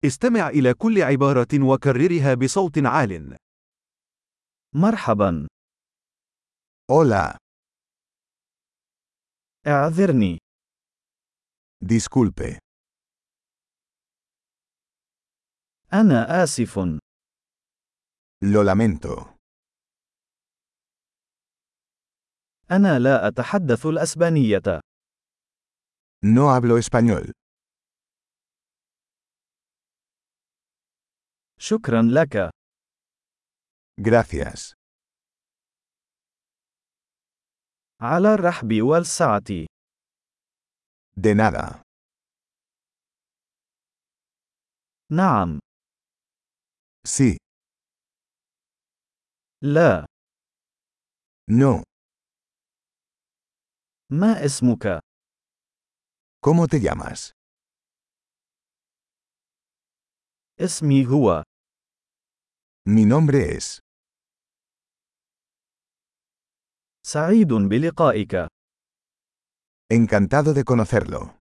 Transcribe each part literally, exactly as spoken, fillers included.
استمع إلى كل عبارة وكررها بصوت عال. مرحبا. Hola, اعذرني. disculpe. أنا آسف. Lo lamento. أنا لا أتحدث الأسبانية. No hablo español. شكرا لك. Gracias. على الرحب والسعة. De nada. نعم. Sí. لا. No. ما اسمك؟ ¿Cómo te llamas? اسمي هو. Mi nombre es. سعيد بلقائك. Encantado de conocerlo.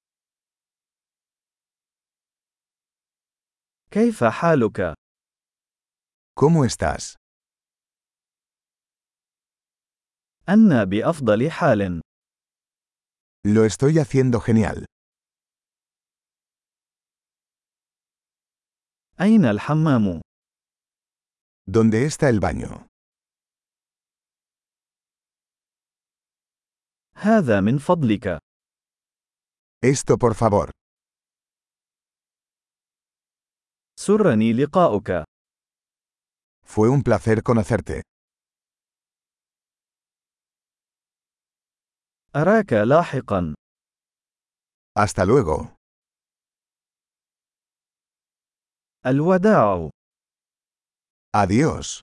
كيف حالك؟ ¿Cómo estás? أنا بأفضل حال. Lo estoy haciendo genial. أين الحمام؟ ¿Dónde está el baño? هذا من فضلك. Esto por favor. سرني لقاؤك. Fue un placer conocerte. أراك لاحقا. Hasta luego. الوداع. Adiós.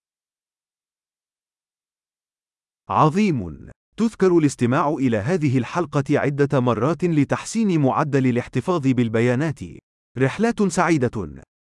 عظيم. تذكر الاستماع إلى هذه الحلقة عدة مرات لتحسين معدل الاحتفاظ بالبيانات. رحلات سعيدة.